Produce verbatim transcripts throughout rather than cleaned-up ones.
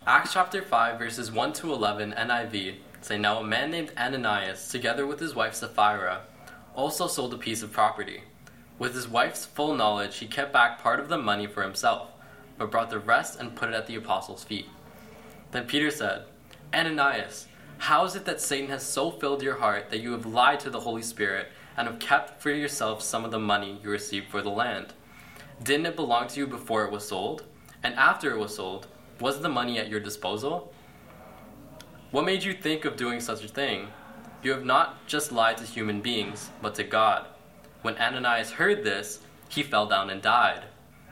Acts chapter five, verses one to eleven, N I V, say, Now a man named Ananias, together with his wife Sapphira, also sold a piece of property. With his wife's full knowledge, he kept back part of the money for himself, but brought the rest and put it at the apostles' feet. Then Peter said, Ananias, how is it that Satan has so filled your heart that you have lied to the Holy Spirit and have kept for yourself some of the money you received for the land? Didn't it belong to you before it was sold? And after it was sold, was the money at your disposal? What made you think of doing such a thing? You have not just lied to human beings, but to God. When Ananias heard this, he fell down and died.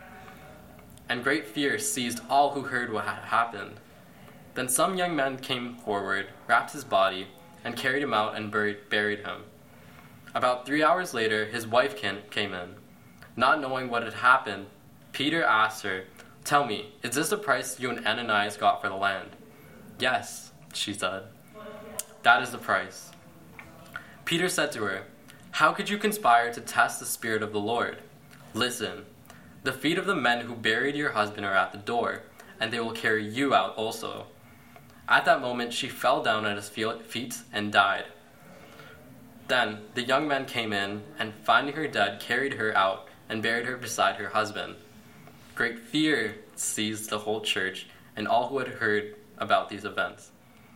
And great fear seized all who heard what had happened. Then some young men came forward, wrapped his body, and carried him out and buried, buried him. About three hours later, his wife came in. Not knowing what had happened, Peter asked her, Tell me, is this the price you and Ananias got for the land? Yes, she said. That is the price. Peter said to her, How could you conspire to test the Spirit of the Lord? Listen, the feet of the men who buried your husband are at the door, and they will carry you out also. At that moment she fell down at his feet and died. Then the young men came in, and finding her dead, carried her out and buried her beside her husband. Great fear seized the whole church and all who had heard about these events.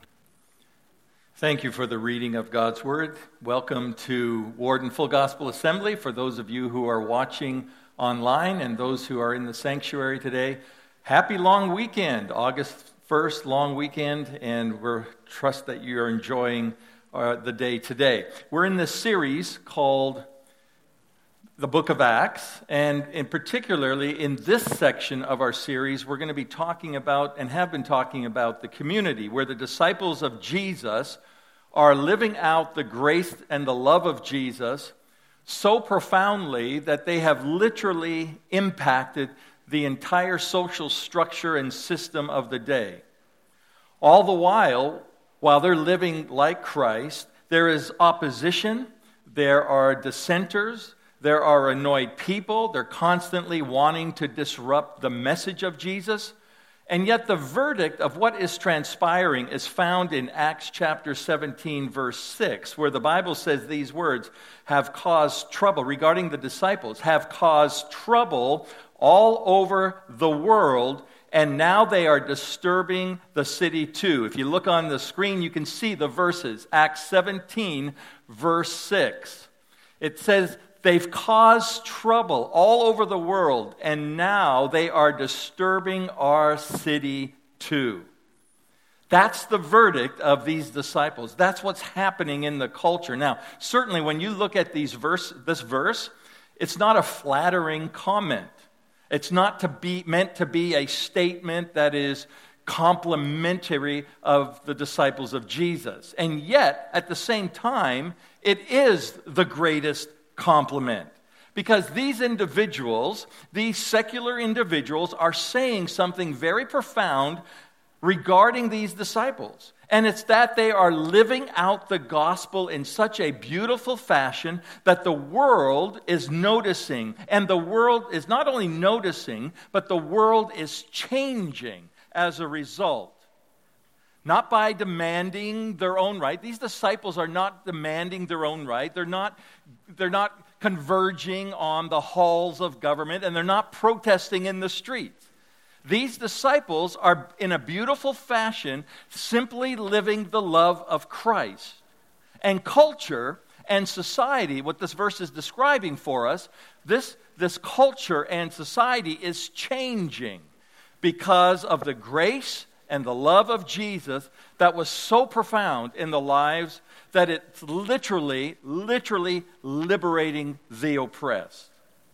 Thank you for the reading of God's Word. Welcome to Warden Full Gospel Assembly. For those of you who are watching online and those who are in the sanctuary today, happy long weekend, August first, long weekend, and we trust that you are enjoying uh, the day today. We're in this series called the Book of Acts, and in particularly in this section of our series, we're going to be talking about, and have been talking about, the community where the disciples of Jesus are living out the grace and the love of Jesus so profoundly that they have literally impacted the entire social structure and system of the day. All the while, while they're living like Christ, there is opposition, there are dissenters, there are annoyed people, they're constantly wanting to disrupt the message of Jesus, and yet the verdict of what is transpiring is found in Acts chapter seventeen, verse six, where the Bible says these words, have caused trouble, regarding the disciples, have caused trouble all over the world, and now they are disturbing the city too. If you look on the screen, you can see the verses. Acts seventeen, verse six. It says, they've caused trouble all over the world, and now they are disturbing our city too. That's the verdict of these disciples. That's what's happening in the culture. Now, certainly when you look at these verse, this verse, it's not a flattering comment. It's not to be meant to be a statement that is complimentary of the disciples of Jesus. And yet, at the same time, it is the greatest compliment. Because these individuals, these secular individuals, are saying something very profound regarding these disciples. And it's that they are living out the gospel in such a beautiful fashion that the world is noticing. And the world is not only noticing, but the world is changing as a result. Not by demanding their own right. These disciples are not demanding their own right. They're not, they're not converging on the halls of government, and they're not protesting in the streets. These disciples are, in a beautiful fashion, simply living the love of Christ. And culture and society, what this verse is describing for us, this, this culture and society is changing because of the grace and the love of Jesus that was so profound in the lives that it's literally, literally liberating the oppressed.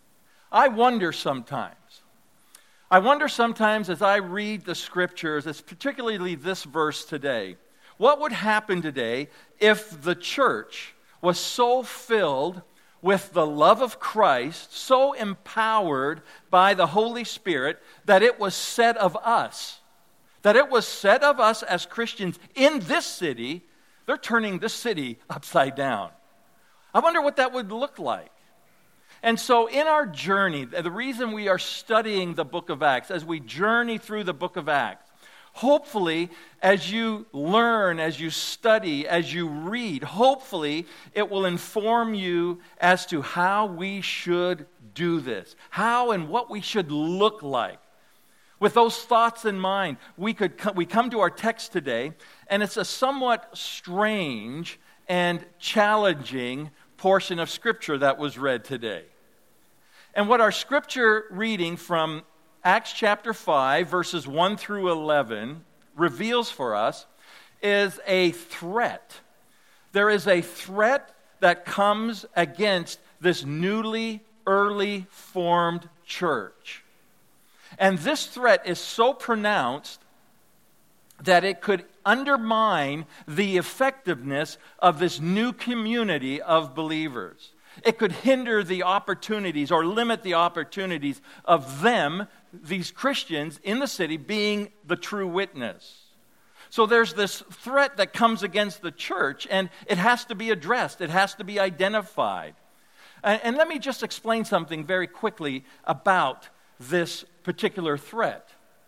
I wonder sometimes, I wonder sometimes as I read the scriptures, as particularly this verse today, what would happen today if the church was so filled with the love of Christ, so empowered by the Holy Spirit, that it was said of us, that it was said of us as Christians in this city, they're turning this city upside down. I wonder what that would look like. And so in our journey, the reason we are studying the book of Acts, as we journey through the book of Acts, Hopefully, as you learn, as you study, as you read, hopefully it will inform you as to how we should do this, how and what we should look like. With those thoughts in mind, we could co- we come to our text today, and it's a somewhat strange and challenging portion of Scripture that was read today. And what our Scripture reading from Acts chapter five, verses one through eleven, reveals for us is a threat. There is a threat that comes against this newly, early formed church. And this threat is so pronounced that it could undermine the effectiveness of this new community of believers. It could hinder the opportunities or limit the opportunities of them, these Christians in the city, being the true witness. So there's this threat that comes against the church, and it has to be addressed. It has to be identified. And, and let me just explain something very quickly about this particular threat.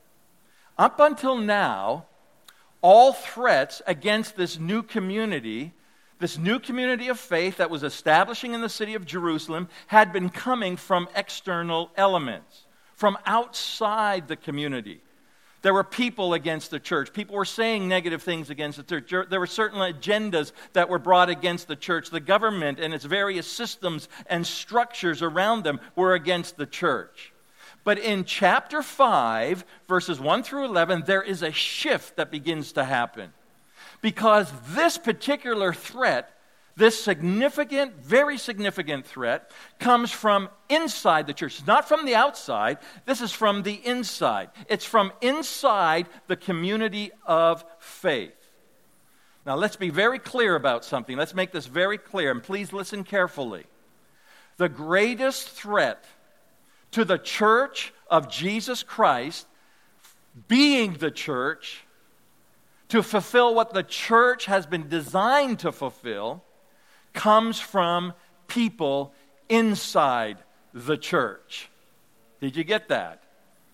Up until now, all threats against this new community, this new community of faith that was establishing in the city of Jerusalem, had been coming from external elements, from outside the community. There were people against the church. People were saying negative things against the church. There were certain agendas that were brought against the church. The government and its various systems and structures around them were against the church. But in chapter five, verses one through eleven, there is a shift that begins to happen. Because this particular threat, this significant, very significant threat, comes from inside the church. It's not from the outside. This is from the inside. It's from inside the community of faith. Now, let's be very clear about something. Let's make this very clear, and please listen carefully. The greatest threat to the church of Jesus Christ, being the church, to fulfill what the church has been designed to fulfill, comes from people inside the church. Did you get that?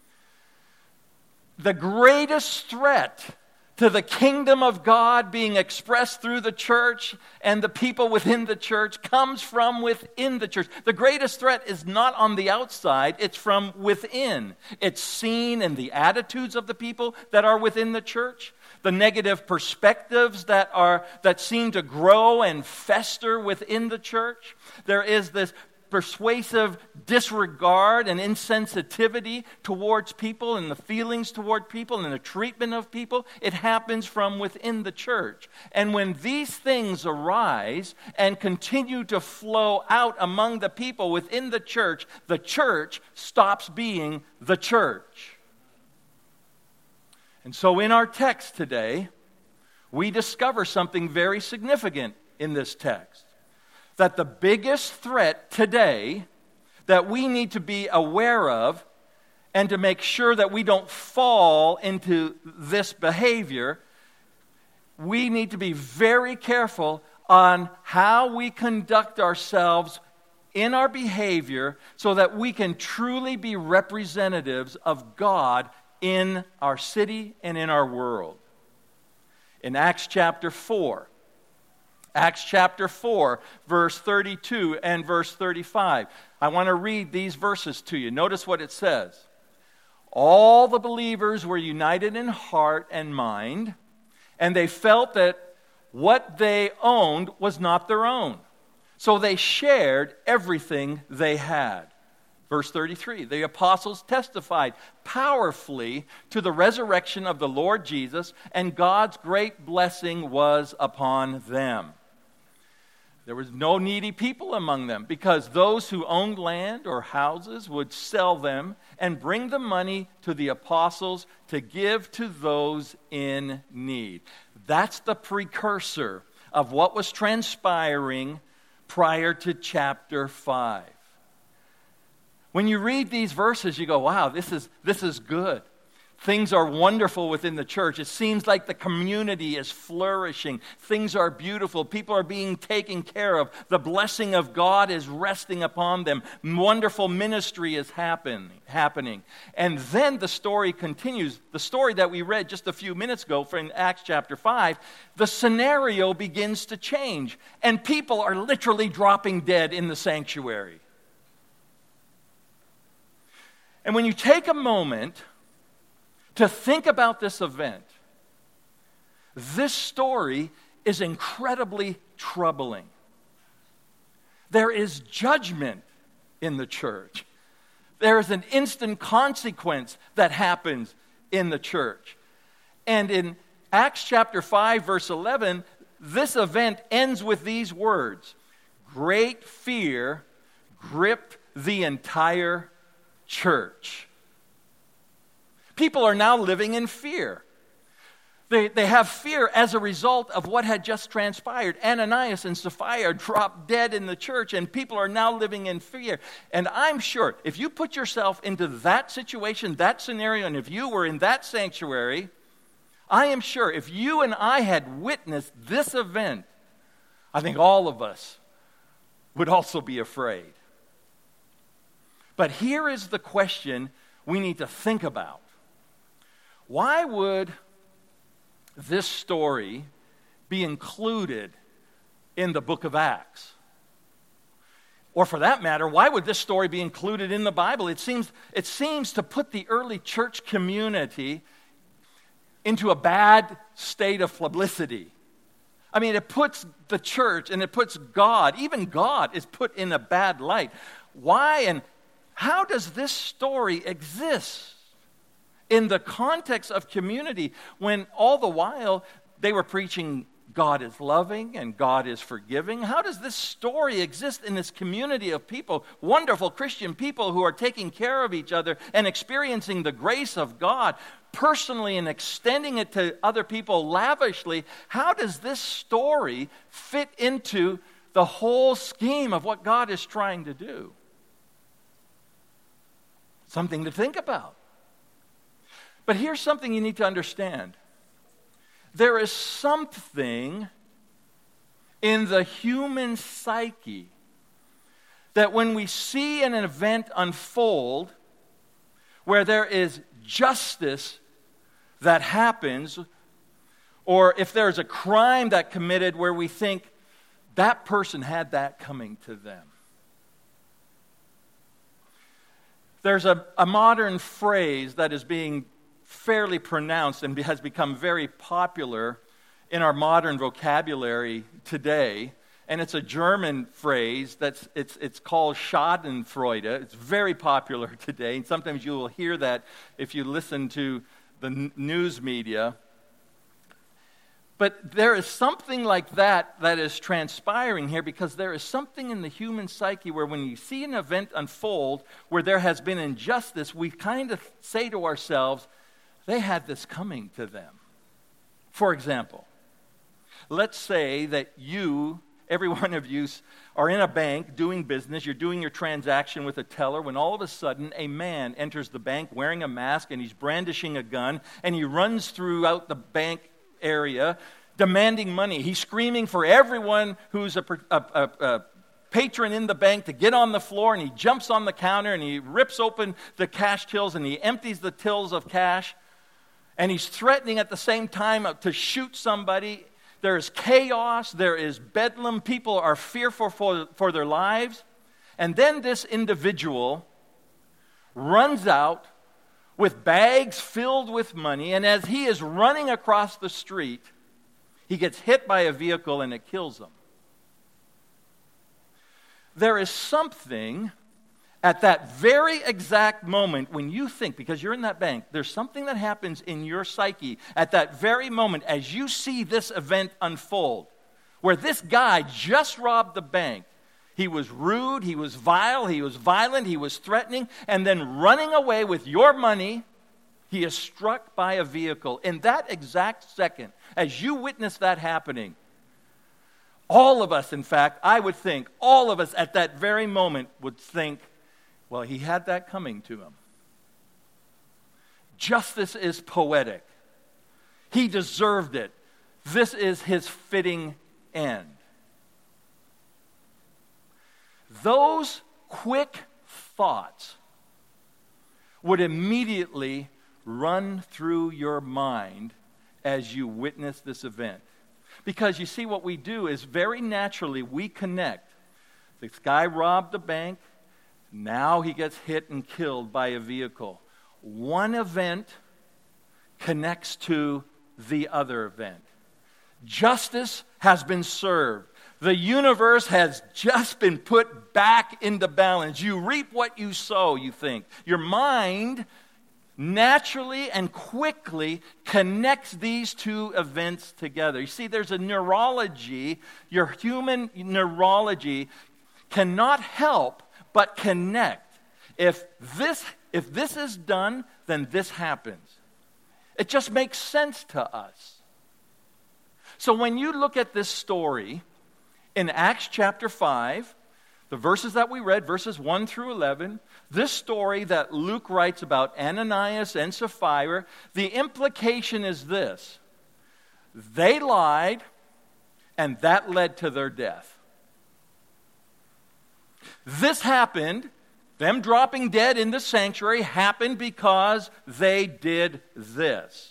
The greatest threat to the kingdom of God being expressed through the church and the people within the church comes from within the church. The greatest threat is not on the outside, it's from within. It's seen in the attitudes of the people that are within the church, the negative perspectives that are that seem to grow and fester within the church. There is this persuasive disregard and insensitivity towards people and the feelings toward people and the treatment of people. It happens from within the church. And when these things arise and continue to flow out among the people within the church, the church stops being the church. And so in our text today, we discover something very significant in this text. That the biggest threat today that we need to be aware of and to make sure that we don't fall into this behavior, we need to be very careful on how we conduct ourselves in our behavior so that we can truly be representatives of God in our city and in our world. In Acts chapter four, Acts chapter four, verse thirty-two and verse thirty-five. I want to read these verses to you. Notice what it says. All the believers were united in heart and mind, and they felt that what they owned was not their own. So they shared everything they had. Verse thirty-three, the apostles testified powerfully to the resurrection of the Lord Jesus, and God's great blessing was upon them. There was no needy people among them, because those who owned land or houses would sell them and bring the money to the apostles to give to those in need. That's the precursor of what was transpiring prior to chapter five. When you read these verses, you go, wow, this is, this is good. things are wonderful within the church. It seems like the community is flourishing. Things are beautiful. People are being taken care of. The blessing of God is resting upon them. Wonderful ministry is happen, happening. And then the story continues. The story that we read just a few minutes ago from Acts chapter five, the scenario begins to change. And people are literally dropping dead in the sanctuary. And when you take a moment to think about this event, this story is incredibly troubling. There is judgment in the church. There is an instant consequence that happens in the church. And in Acts chapter five, verse eleven, this event ends with these words: great fear gripped the entire church. People are now living in fear. They, they have fear as a result of what had just transpired. Ananias and Sapphira dropped dead in the church, and people are now living in fear. And I'm sure if you put yourself into that situation, that scenario, and if you were in that sanctuary, I am sure if you and I had witnessed this event, I think all of us would also be afraid. But here is the question we need to think about. Why would this story be included in the book of Acts? Or for that matter, why would this story be included in the Bible? It seems, it seems to put the early church community into a bad state of publicity. I mean, it puts the church and it puts God, even God, is put in a bad light. Why and how does this story exist in the context of community when all the while they were preaching God is loving and God is forgiving? How does this story exist in this community of people, wonderful Christian people who are taking care of each other and experiencing the grace of God personally and extending it to other people lavishly? How does this story fit into the whole scheme of what God is trying to do? Something to think about. But here's something you need to understand. There is something in the human psyche that when we see an event unfold where there is justice that happens, or if there's a crime that committed where we think that person had that coming to them. There's a, a modern phrase that is being fairly pronounced and has become very popular in our modern vocabulary today. And it's a German phrase that's it's it's called Schadenfreude. It's very popular today. And sometimes you will hear that if you listen to the n- news media. But there is something like that that is transpiring here, because there is something in the human psyche where when you see an event unfold where there has been injustice, we kind of say to ourselves, they had this coming to them. For example, let's say that you, every one of you, are in a bank doing business. You're doing your transaction with a teller when all of a sudden a man enters the bank wearing a mask and he's brandishing a gun and he runs throughout the bank area demanding money. He's screaming for everyone who's a, a, a, a patron in the bank to get on the floor, and he jumps on the counter and he rips open the cash tills and he empties the tills of cash, and he's threatening at the same time to shoot somebody. There is chaos, there is bedlam, people are fearful for, for their lives, and then this individual runs out with bags filled with money, and as he is running across the street, he gets hit by a vehicle and it kills him. There is something at that very exact moment when you think, because you're in that bank, there's something that happens in your psyche at that very moment as you see this event unfold, where this guy just robbed the bank. He was rude, he was vile, he was violent, he was threatening, and then running away with your money, he is struck by a vehicle. In that exact second, as you witness that happening, all of us, in fact, I would think, all of us at that very moment would think, well, he had that coming to him. Justice is poetic. He deserved it. This is his fitting end. Those quick thoughts would immediately run through your mind as you witness this event. Because you see, what we do is very naturally we connect. This guy robbed the bank. Now he gets hit and killed by a vehicle. One event connects to the other event. Justice has been served. The universe has just been put back into balance. You reap what you sow, you think. Your mind naturally and quickly connects these two events together. You see, there's a neurology. Your human neurology cannot help but connect. If this, if this is done, then this happens. It just makes sense to us. So when you look at this story in Acts chapter five, the verses that we read, verses one through eleven, this story that Luke writes about Ananias and Sapphira, the implication is this: they lied, and that led to their death. This happened, them dropping dead in the sanctuary happened because they did this.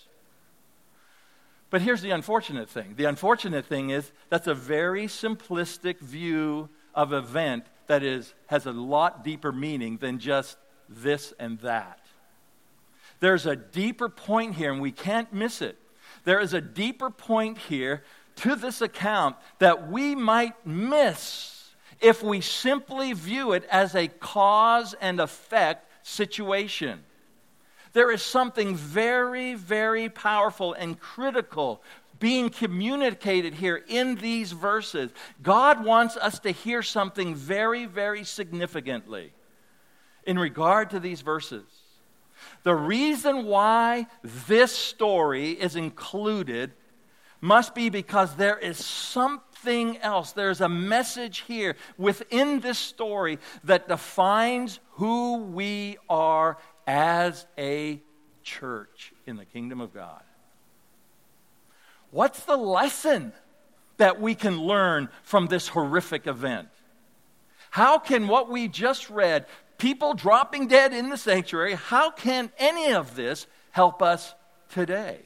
But here's the unfortunate thing. The unfortunate thing is that's a very simplistic view of event that is has a lot deeper meaning than just this and that. There's a deeper point here, and we can't miss it. There is a deeper point here to this account that we might miss if we simply view it as a cause and effect situation. There is something very, very powerful and critical being communicated here in these verses. God wants us to hear something very, very significantly in regard to these verses. The reason why this story is included must be because there is something else. There's a message here within this story that defines who we are as a church in the kingdom of God. What's the lesson that we can learn from this horrific event? How can what we just read, people dropping dead in the sanctuary, how can any of this help us today?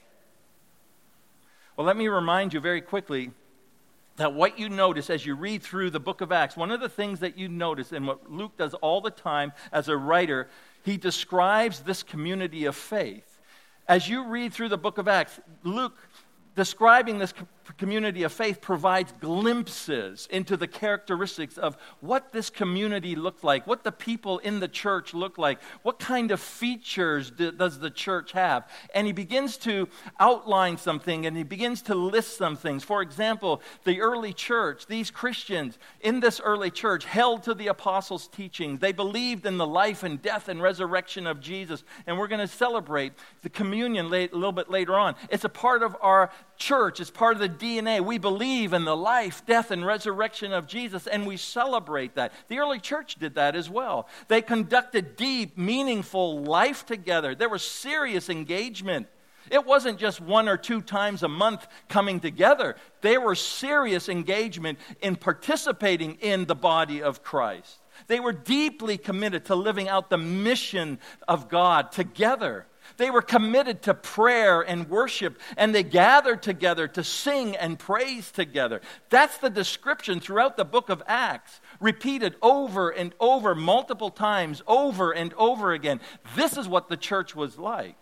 Well, let me remind you very quickly that what you notice as you read through the book of Acts, one of the things that you notice, and what Luke does all the time as a writer, he describes this community of faith. As you read through the book of Acts, Luke, describing this community of faith, provides glimpses into the characteristics of what this community looked like, what the people in the church look like, what kind of features do, does the church have. And he begins to outline something, and he begins to list some things. For example, the early church, these Christians in this early church held to the apostles' teachings. They believed in the life and death and resurrection of Jesus. And we're going to celebrate the communion late, a little bit later on. It's a part of our church. It's part of the D N A. We believe in the life, death, and resurrection of Jesus, and we celebrate that. The early church did that as well. They conducted deep, meaningful life together. There was serious engagement. It wasn't just one or two times a month coming together. There was serious engagement in participating in the body of Christ. They were deeply committed to living out the mission of God together. They were committed to prayer and worship, and they gathered together to sing and praise together. That's the description throughout the book of Acts, repeated over and over, multiple times, over and over again. This is what the church was like.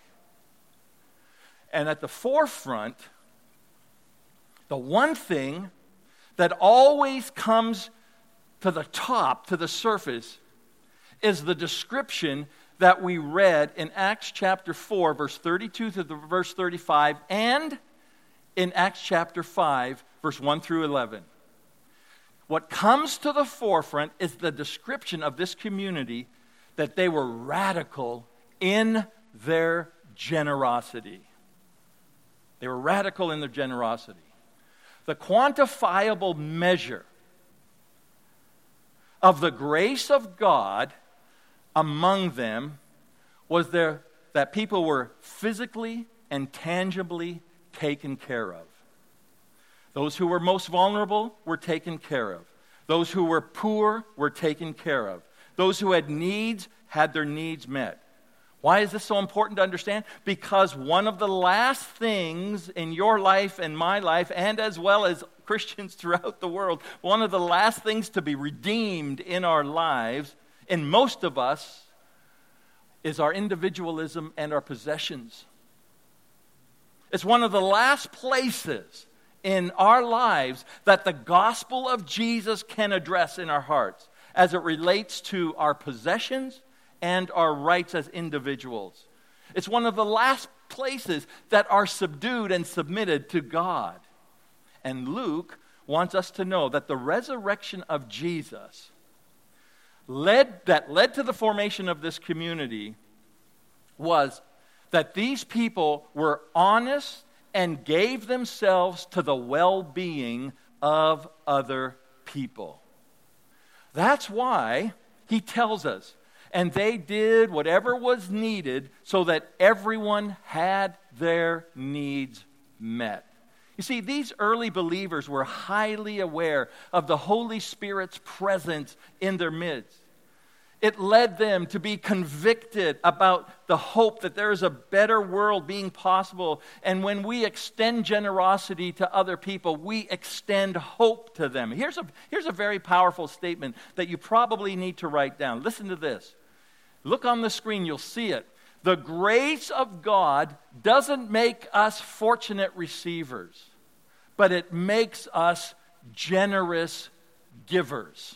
And at the forefront, the one thing that always comes to the top, to the surface, is the description that we read in Acts chapter four, verse thirty-two to the verse thirty-five, and in Acts chapter five, verse one through eleven. What comes to the forefront is the description of this community, that they were radical in their generosity. They were radical in their generosity. The quantifiable measure of the grace of God among them was their that people were physically and tangibly taken care of. Those who were most vulnerable were taken care of. Those who were poor were taken care of. Those who had needs had their needs met. Why is this so important to understand? Because one of the last things in your life and my life, and as well as Christians throughout the world, one of the last things to be redeemed in our lives, in most of us, is our individualism and our possessions. It's one of the last places in our lives that the gospel of Jesus can address in our hearts as it relates to our possessions and our rights as individuals. It's one of the last places that are subdued and submitted to God. And Luke wants us to know that the resurrection of Jesus led that led to the formation of this community was that these people were honest and gave themselves to the well-being of other people. That's why he tells us, and they did whatever was needed so that everyone had their needs met. You see, these early believers were highly aware of the Holy Spirit's presence in their midst. It led them to be convicted about the hope that there is a better world being possible. And when we extend generosity to other people, we extend hope to them. Here's a, here's a very powerful statement that you probably need to write down. Listen to this. Look on the screen, you'll see it. The grace of God doesn't make us fortunate receivers, but it makes us generous givers.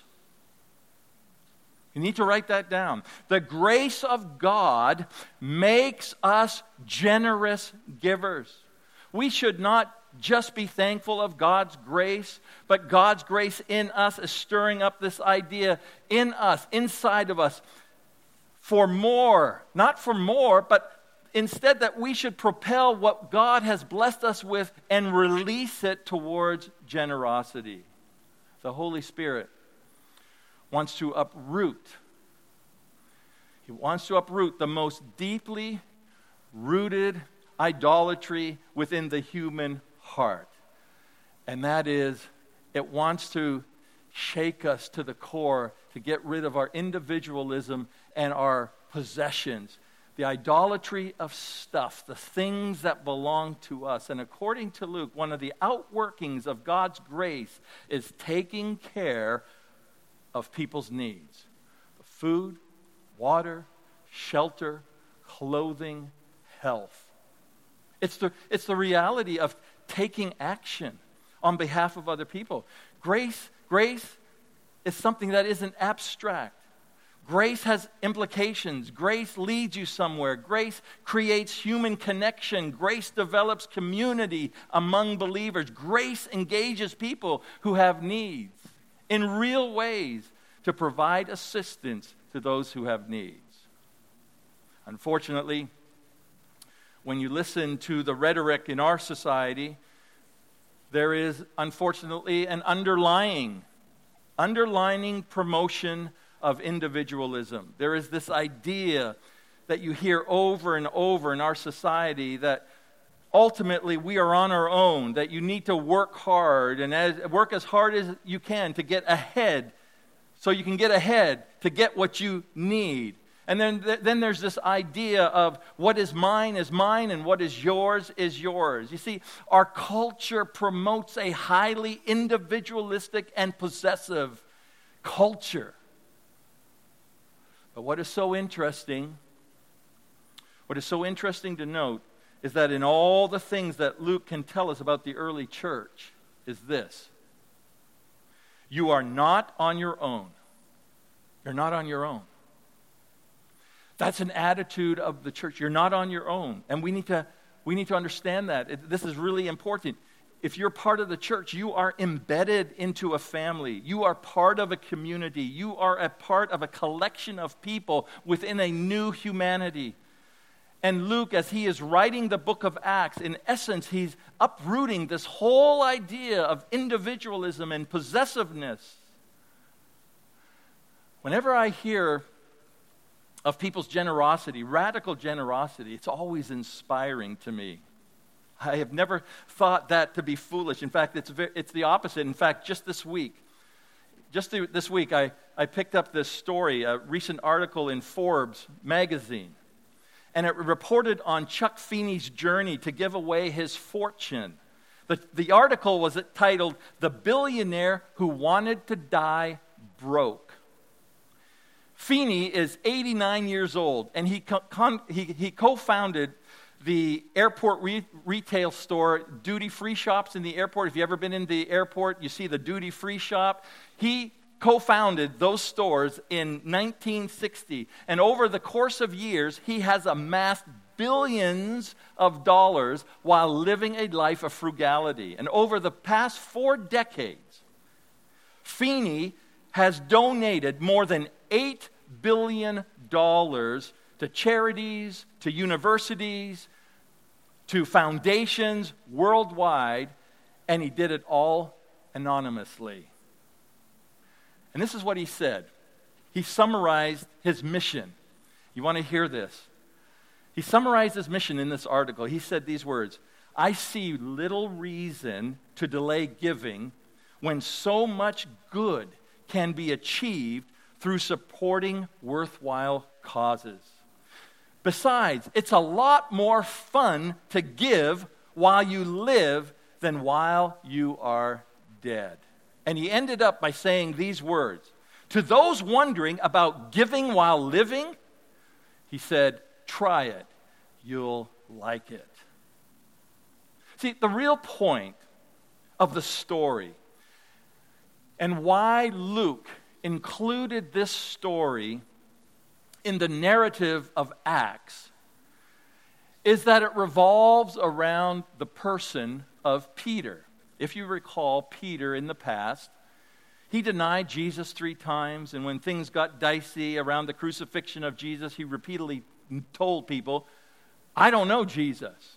You need to write that down. The grace of God makes us generous givers. We should not just be thankful of God's grace, but God's grace in us is stirring up this idea in us, inside of us, for more. Not for more, but instead that we should propel what God has blessed us with and release it towards generosity. The Holy Spirit wants to uproot. He wants to uproot the most deeply rooted idolatry within the human heart. And that is, it wants to shake us to the core to get rid of our individualism and our possessions. The idolatry of stuff, the things that belong to us. And according to Luke, one of the outworkings of God's grace is taking care of people's needs. Food, water, shelter, clothing, health. It's the, it's the reality of taking action on behalf of other people. Grace, grace is something that isn't abstract. Grace has implications. Grace leads you somewhere. Grace creates human connection. Grace develops community among believers. Grace engages people who have needs in real ways to provide assistance to those who have needs. Unfortunately, when you listen to the rhetoric in our society, there is unfortunately an underlying, underlining promotion of individualism. There is this idea that you hear over and over in our society that ultimately we are on our own, that you need to work hard and as, work as hard as you can to get ahead, so you can get ahead to get what you need. And then, then there's this idea of what is mine is mine and what is yours is yours. You see, our culture promotes a highly individualistic and possessive culture. But what is so interesting, what is so interesting to note is that in all the things that Luke can tell us about the early church is this. You are not on your own. You're not on your own. That's an attitude of the church. You're not on your own. And we need to, we need to understand that. It, this is really important. If you're part of the church, you are embedded into a family. You are part of a community. You are a part of a collection of people within a new humanity. And Luke, as he is writing the book of Acts, in essence, he's uprooting this whole idea of individualism and possessiveness. Whenever I hear of people's generosity, radical generosity, it's always inspiring to me. I have never thought that to be foolish. In fact, it's very, it's the opposite. In fact, just this week, just this week, I, I picked up this story, a recent article in Forbes magazine, and it reported on Chuck Feeney's journey to give away his fortune. The, the article was titled, "The Billionaire Who Wanted to Die Broke." Feeney is eighty-nine years old, and he, con, he, he co-founded the airport re- retail store, duty-free shops in the airport. If you've ever been in the airport, you see the duty-free shop. He co-founded those stores in nineteen sixty, and over the course of years, he has amassed billions of dollars while living a life of frugality. And over the past four decades, Feeney has donated more than eight billion dollars to charities, to universities, to foundations worldwide, and he did it all anonymously. And this is what he said. He summarized his mission. You want to hear this? He summarized his mission in this article. He said these words, "I see little reason to delay giving when so much good can be achieved through supporting worthwhile causes. Besides, it's a lot more fun to give while you live than while you are dead." And he ended up by saying these words, "To those wondering about giving while living," he said, "try it. You'll like it." See, the real point of the story and why Luke included this story in the narrative of Acts is that it revolves around the person of Peter. If you recall, Peter in the past, he denied Jesus three times, and when things got dicey around the crucifixion of Jesus, he repeatedly told people, "I don't know Jesus."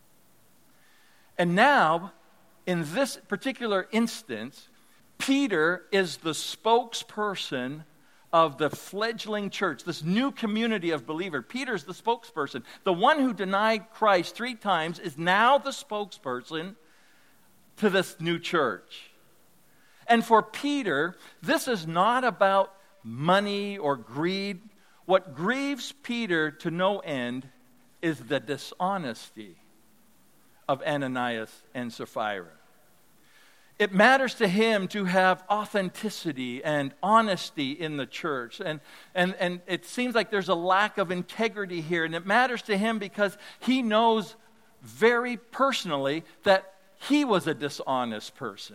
And now, in this particular instance, Peter is the spokesperson of the fledgling church, this new community of believers. Peter's the spokesperson. The one who denied Christ three times is now the spokesperson to this new church. And for Peter, this is not about money or greed. What grieves Peter to no end is the dishonesty of Ananias and Sapphira. It matters to him to have authenticity and honesty in the church. And, and, and it seems like there's a lack of integrity here. And it matters to him because he knows very personally that he was a dishonest person.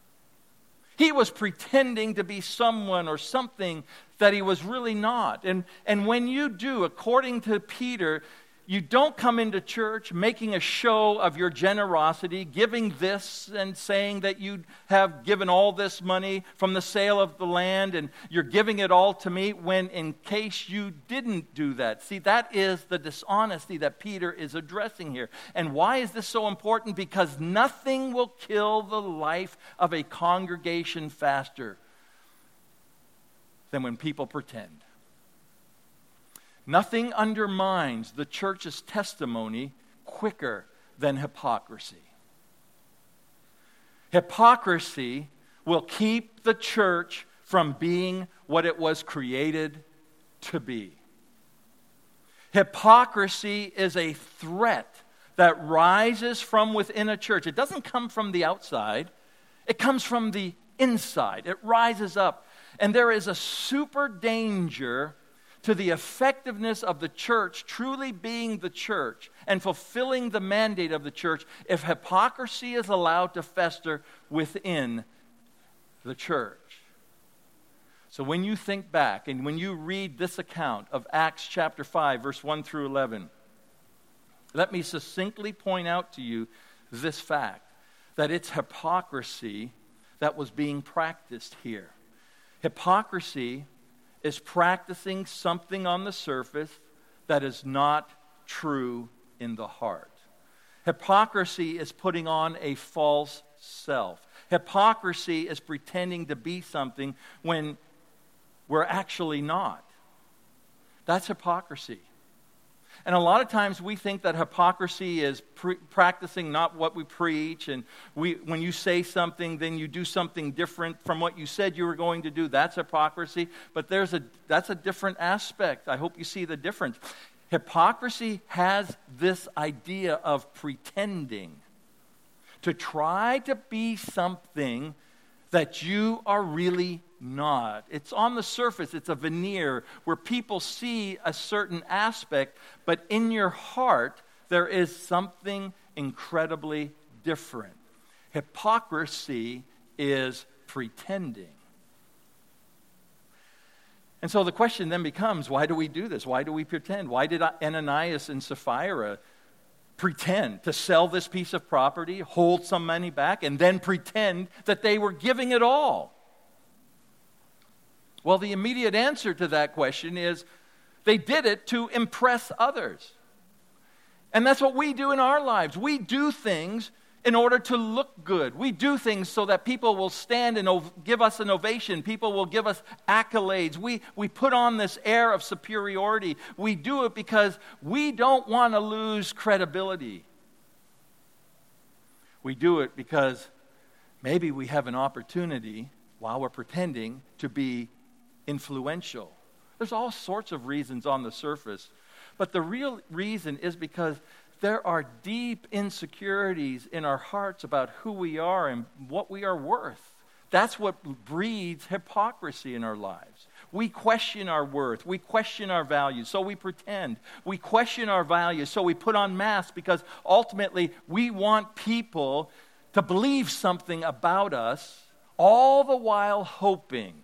He was pretending to be someone or something that he was really not. And, and when you do, according to Peter, you don't come into church making a show of your generosity, giving this and saying that you have given all this money from the sale of the land and you're giving it all to me, when in case you didn't do that. See, that is the dishonesty that Peter is addressing here. And why is this so important? Because nothing will kill the life of a congregation faster than when people pretend. Nothing undermines the church's testimony quicker than hypocrisy. Hypocrisy will keep the church from being what it was created to be. Hypocrisy is a threat that rises from within a church. It doesn't come from the outside. It comes from the inside. It rises up. And there is a super danger to the effectiveness of the church truly being the church and fulfilling the mandate of the church if hypocrisy is allowed to fester within the church. So when you think back and when you read this account of Acts chapter five, verse one through eleven, let me succinctly point out to you this fact, that it's hypocrisy that was being practiced here. Hypocrisy is practicing something on the surface that is not true in the heart. Hypocrisy is putting on a false self. Hypocrisy is pretending to be something when we're actually not. That's hypocrisy. And a lot of times we think that hypocrisy is pre- practicing not what we preach, and we, when you say something, then you do something different from what you said you were going to do. That's hypocrisy. But there's a that's a different aspect. I hope you see the difference. Hypocrisy has this idea of pretending, to try to be something that you are really not. It's on the surface. It's a veneer where people see a certain aspect, but in your heart, there is something incredibly different. Hypocrisy is pretending. And so the question then becomes, why do we do this? Why do we pretend? Why did Ananias and Sapphira pretend to sell this piece of property, hold some money back, and then pretend that they were giving it all? Well, the immediate answer to that question is they did it to impress others. And that's what we do in our lives. We do things in order to look good. We do things so that people will stand and ov- give us an ovation. People will give us accolades. We, we put on this air of superiority. We do it because we don't want to lose credibility. We do it because maybe we have an opportunity, while we're pretending, to be influential. There's all sorts of reasons on the surface, but the real reason is because there are deep insecurities in our hearts about who we are and what we are worth. That's what breeds hypocrisy in our lives. We question our worth. We question our values, so we pretend. We question our values, so we put on masks, because ultimately we want people to believe something about us, all the while hoping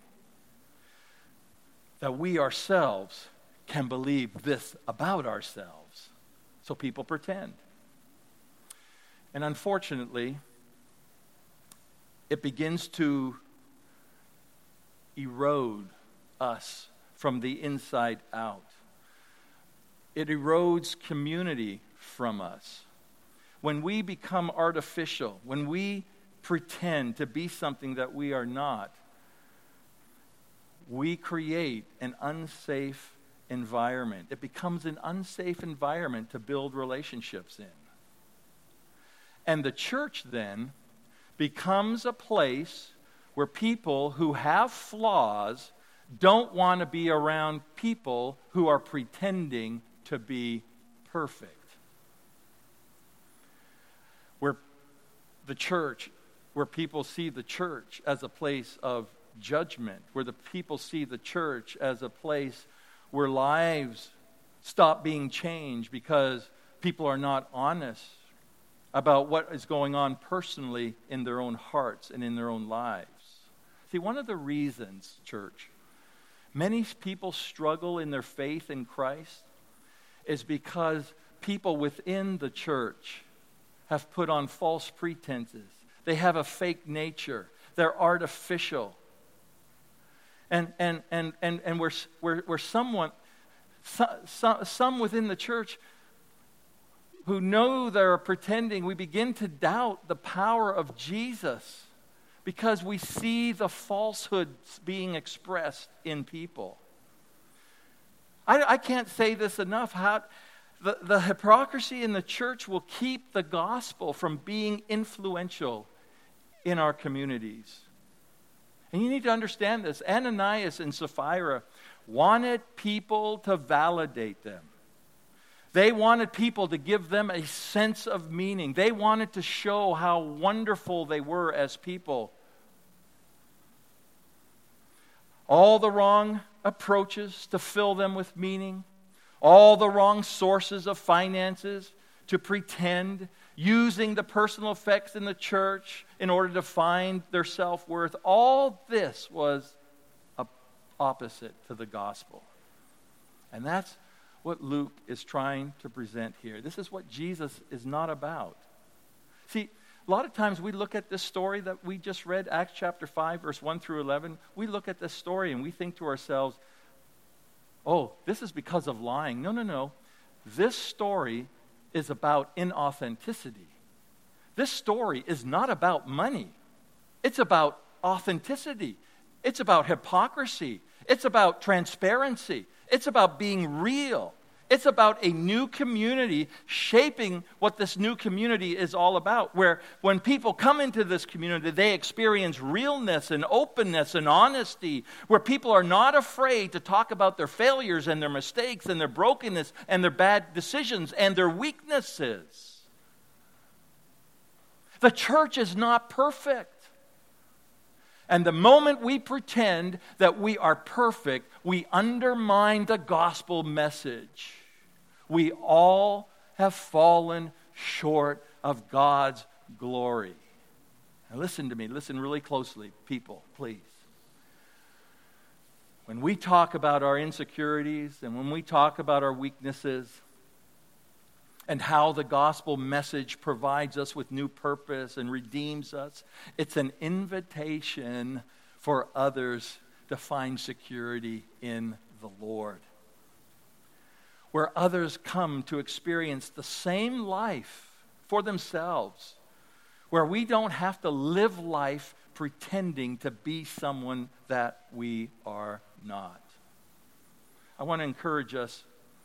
that we ourselves can believe this about ourselves. So people pretend. And unfortunately, it begins to erode us from the inside out. It erodes community from us. When we become artificial, when we pretend to be something that we are not, we create an unsafe environment. It becomes an unsafe environment to build relationships in. And the church then becomes a place where people who have flaws don't want to be around people who are pretending to be perfect. Where the church, where people see the church as a place of judgment, where the people see the church as a place where lives stop being changed because people are not honest about what is going on personally in their own hearts and in their own lives. See, one of the reasons, church, many people struggle in their faith in Christ is because people within the church have put on false pretenses. They have a fake nature. They're artificial. And and and and and we're we're, we're someone, so, so, some within the church who know they're pretending, we begin to doubt the power of Jesus because we see the falsehoods being expressed in people. I, I can't say this enough. How the, the hypocrisy in the church will keep the gospel from being influential in our communities. And you need to understand this. Ananias and Sapphira wanted people to validate them. They wanted people to give them a sense of meaning. They wanted to show how wonderful they were as people. All the wrong approaches to fill them with meaning. All the wrong sources of finances to pretend, using the personal effects in the church in order to find their self-worth. All this was a opposite to the gospel. And that's what Luke is trying to present here. This is what Jesus is not about. See, a lot of times we look at this story that we just read, Acts chapter five, verse one through eleven. We look at this story and we think to ourselves, oh, this is because of lying. No, no, no. This story is about inauthenticity. This story is not about money. It's about authenticity. It's about hypocrisy. It's about transparency. It's about being real. It's about a new community shaping what this new community is all about, where when people come into this community, they experience realness and openness and honesty, where people are not afraid to talk about their failures and their mistakes and their brokenness and their bad decisions and their weaknesses. The church is not perfect. And the moment we pretend that we are perfect, we undermine the gospel message. We all have fallen short of God's glory. Now listen to me, listen really closely, people, please. When we talk about our insecurities and when we talk about our weaknesses and how the gospel message provides us with new purpose and redeems us, it's an invitation for others to find security in the Lord. Where others come to experience the same life for themselves, where we don't have to live life pretending to be someone that we are not. I want to encourage us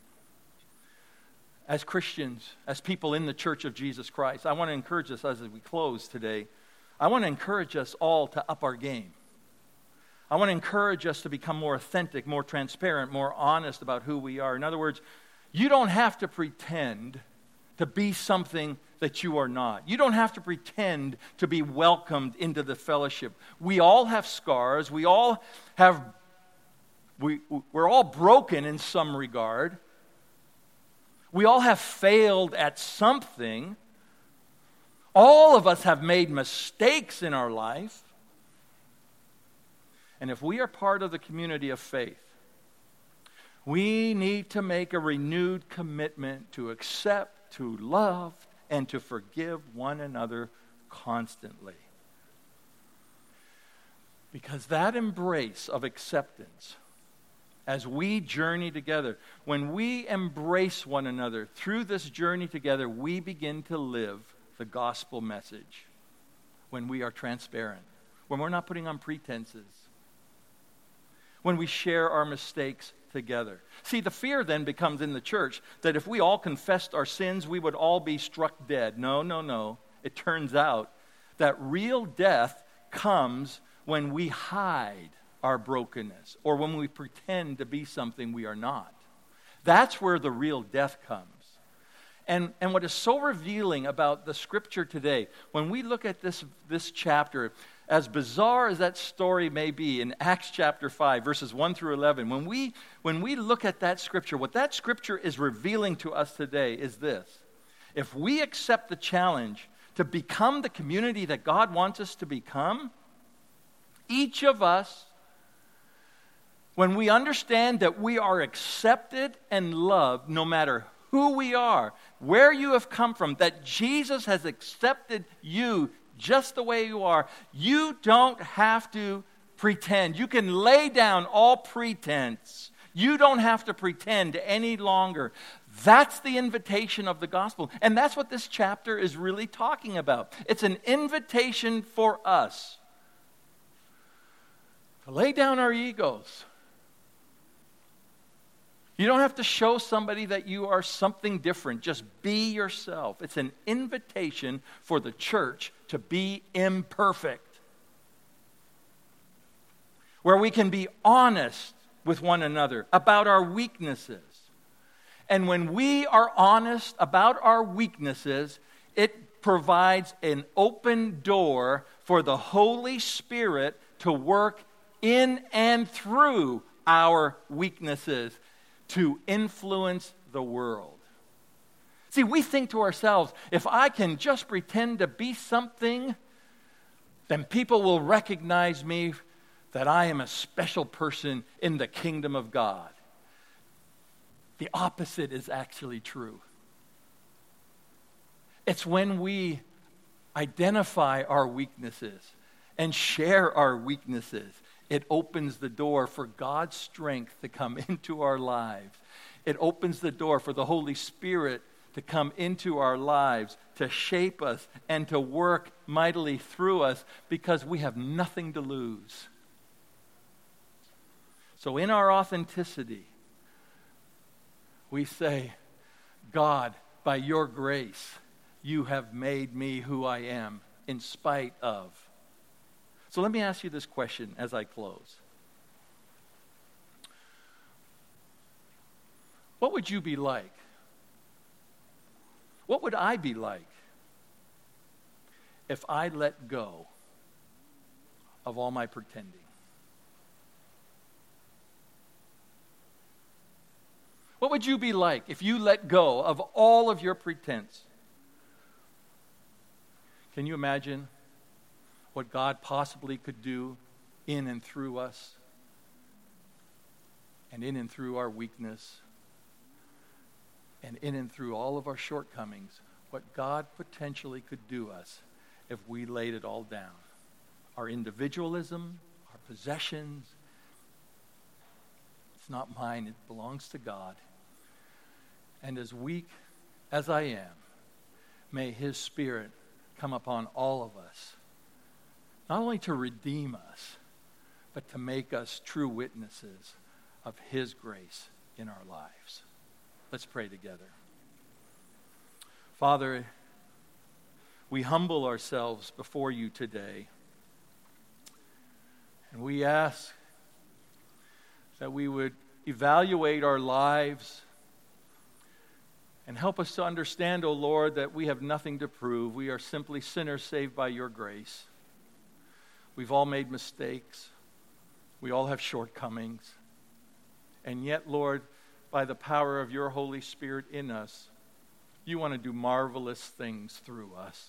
as Christians, as people in the Church of Jesus Christ. I want to encourage us as we close today. I want to encourage us all to up our game. I want to encourage us to become more authentic, more transparent, more honest about who we are. In other words, you don't have to pretend to be something that you are not. You don't have to pretend to be welcomed into the fellowship. We all have scars. We all have, we, we're all broken in some regard. We all have failed at something. All of us have made mistakes in our life. And if we are part of the community of faith, we need to make a renewed commitment to accept, to love, and to forgive one another constantly. Because that embrace of acceptance, as we journey together, when we embrace one another through this journey together, we begin to live the gospel message. When we are transparent, when we're not putting on pretenses, when we share our mistakes together. See, the fear then becomes in the church that if we all confessed our sins, we would all be struck dead. No, no, no. It turns out that real death comes when we hide our brokenness or when we pretend to be something we are not. That's where the real death comes. And, and what is so revealing about the scripture today, when we look at this, this chapter, as bizarre as that story may be in Acts chapter five, verses one through eleven, when we, when we look at that scripture, what that scripture is revealing to us today is this. If we accept the challenge to become the community that God wants us to become, each of us, when we understand that we are accepted and loved no matter who we are, where you have come from, that Jesus has accepted you just the way you are, you don't have to pretend. You can lay down all pretense. You don't have to pretend any longer. That's the invitation of the gospel. And that's what this chapter is really talking about. It's an invitation for us to lay down our egos. You don't have to show somebody that you are something different. Just be yourself. It's an invitation for the church to be imperfect, where we can be honest with one another about our weaknesses. And when we are honest about our weaknesses, it provides an open door for the Holy Spirit to work in and through our weaknesses to influence the world. See, we think to ourselves, if I can just pretend to be something, then people will recognize me that I am a special person in the kingdom of God. The opposite is actually true. It's when we identify our weaknesses and share our weaknesses, it opens the door for God's strength to come into our lives. It opens the door for the Holy Spirit to come into our lives, to shape us, and to work mightily through us because we have nothing to lose. So in our authenticity, we say, God, by your grace, you have made me who I am in spite of. So let me ask you this question as I close. What would you be like? What would I be like if I let go of all my pretending? What would you be like if you let go of all of your pretense? Can you imagine what God possibly could do in and through us, and in and through our weakness, and in and through all of our shortcomings, what God potentially could do us if we laid it all down? Our individualism, our possessions, it's not mine, it belongs to God. And as weak as I am, may His Spirit come upon all of us, not only to redeem us, but to make us true witnesses of His grace in our lives. Let's pray together. Father, we humble ourselves before you today, and we ask that we would evaluate our lives and help us to understand, O Lord, that we have nothing to prove. We are simply sinners saved by your grace. We've all made mistakes. We all have shortcomings. And yet, Lord, by the power of your Holy Spirit in us, you want to do marvelous things through us.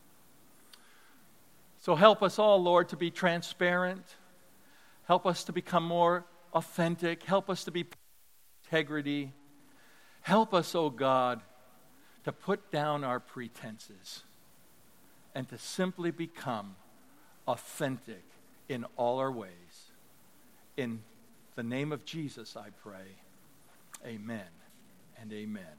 So help us all, Lord, to be transparent. Help us to become more authentic. Help us to be integrity. Help us, O God, to put down our pretenses and to simply become authentic in all our ways. In the name of Jesus, I pray. Amen and amen.